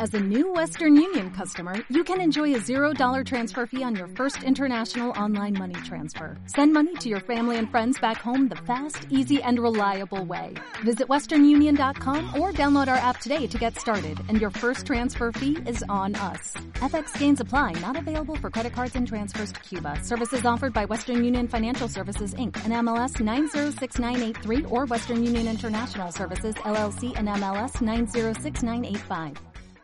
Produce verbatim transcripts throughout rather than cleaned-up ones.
As a new Western Union customer, you can enjoy a zero dollar transfer fee on your first international online money transfer. Send money to your family and friends back home the fast, easy, and reliable way. Visit western union dot com or download our app today to get started, and your first transfer fee is on us. F X gains apply, not available for credit cards and transfers to Cuba. Services offered by Western Union Financial Services, Incorporated, and M L S nine zero six nine eight three or Western Union International Services, L L C, and M L S nine zero six nine eight five.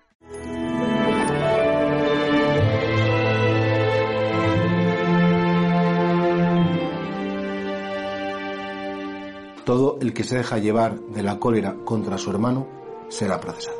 Todo el que se deja llevar de la cólera contra su hermano será procesado.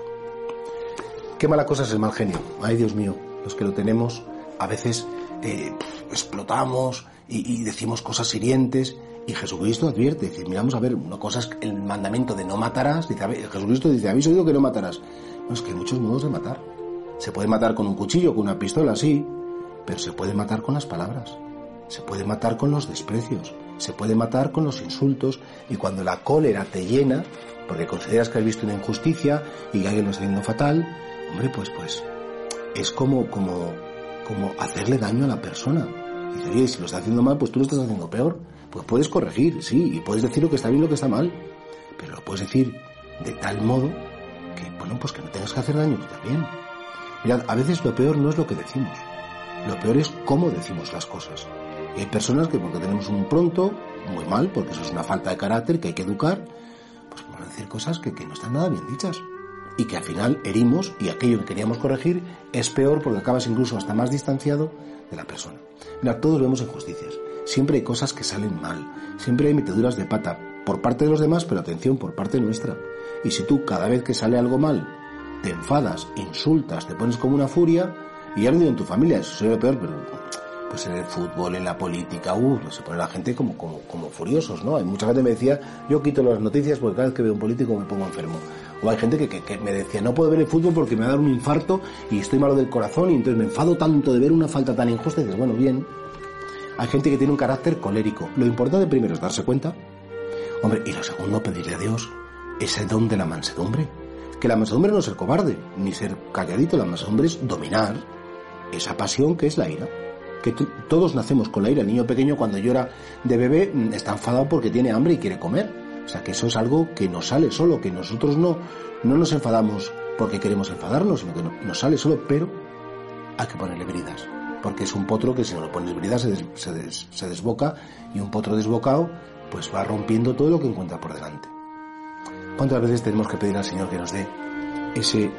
Qué mala cosa es el mal genio. Ay, Dios mío, los que lo tenemos a veces eh, explotamos y, y decimos cosas hirientes, y Jesucristo advierte, dice, miramos a ver, una cosa es el mandamiento de no matarás, dice, a ver, Jesucristo dice, habéis oído que no matarás. No, es que hay muchos modos de matar. Se puede matar con un cuchillo, con una pistola, sí, pero se puede matar con las palabras, se puede matar con los desprecios, se puede matar con los insultos, y cuando la cólera te llena, porque consideras que has visto una injusticia y que alguien lo está haciendo fatal, hombre, pues pues es como, como, como hacerle daño a la persona. Y dice, oye, si lo está haciendo mal, pues tú lo estás haciendo peor. Pues puedes corregir, sí, y puedes decir lo que está bien y lo que está mal, pero lo puedes decir de tal modo que, bueno, pues que no tengas que hacer daño tú también. Mirad, a veces lo peor no es lo que decimos, lo peor es cómo decimos las cosas. Y hay personas que, porque tenemos un pronto, muy mal, porque eso es una falta de carácter que hay que educar, pues vamos a decir cosas que, que no están nada bien dichas. Y que al final herimos, y aquello que queríamos corregir es peor porque acabas incluso hasta más distanciado de la persona. Mira, todos vemos injusticias. Siempre hay cosas que salen mal. Siempre hay meteduras de pata por parte de los demás, pero atención, por parte nuestra. Y si tú cada vez que sale algo mal te enfadas, insultas, te pones como una furia, y ya no digo en tu familia, eso sería lo peor, pero pues en el fútbol, en la política, uh, se pone la gente como, como, como furiosos, ¿no? Hay mucha gente que me decía, yo quito las noticias porque cada vez que veo un político me pongo enfermo. O hay gente que, que, que me decía, no puedo ver el fútbol porque me va a dar un infarto y estoy malo del corazón, y entonces me enfado tanto de ver una falta tan injusta. Y dices, bueno, bien. Hay gente que tiene un carácter colérico. Lo importante primero es darse cuenta. Hombre, y lo segundo, pedirle a Dios ese don de la mansedumbre. Que la mansedumbre no es ser cobarde, ni ser calladito. La mansedumbre es dominar esa pasión que es la ira. Que t- todos nacemos con la ira. El niño pequeño cuando llora de bebé está enfadado porque tiene hambre y quiere comer. O sea, que eso es algo que nos sale solo, que nosotros no, no nos enfadamos porque queremos enfadarnos, sino que no, nos sale solo, pero hay que ponerle bridas. Porque es un potro que si no lo pones bridas se, des, se, des, se desboca, y un potro desbocado pues va rompiendo todo lo que encuentra por delante. ¿Cuántas veces tenemos que pedir al Señor que nos dé ese,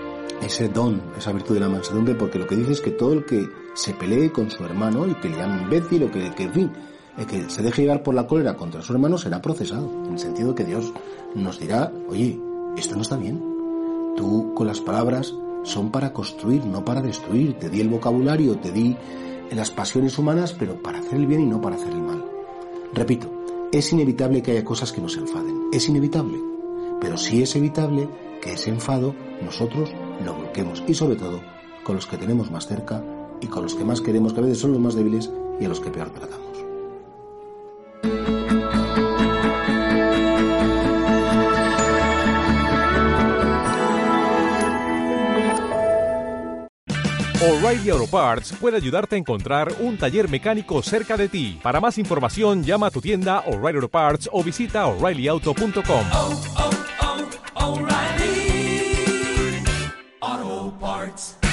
ese don, esa virtud de la mansedumbre? Porque lo que dice es que todo el que se pelee con su hermano y que le llame imbécil o que, que en fin, el que se deje llevar por la cólera contra su hermano será procesado, en el sentido que Dios nos dirá, oye, esto no está bien. Tú con las palabras son para construir, no para destruir. Te di el vocabulario, te di las pasiones humanas, pero para hacer el bien y no para hacer el mal. Repito, es inevitable que haya cosas que nos enfaden, es inevitable, pero sí es evitable que ese enfado nosotros lo bloqueemos, y sobre todo con los que tenemos más cerca y con los que más queremos, que a veces son los más débiles y a los que peor tratamos. O'Reilly Auto Parts puede ayudarte a encontrar un taller mecánico cerca de ti. Para más información, llama a tu tienda O'Reilly Auto Parts o visita O'Reilly Auto punto com. Oh, oh, oh, O'Reilly Auto Parts.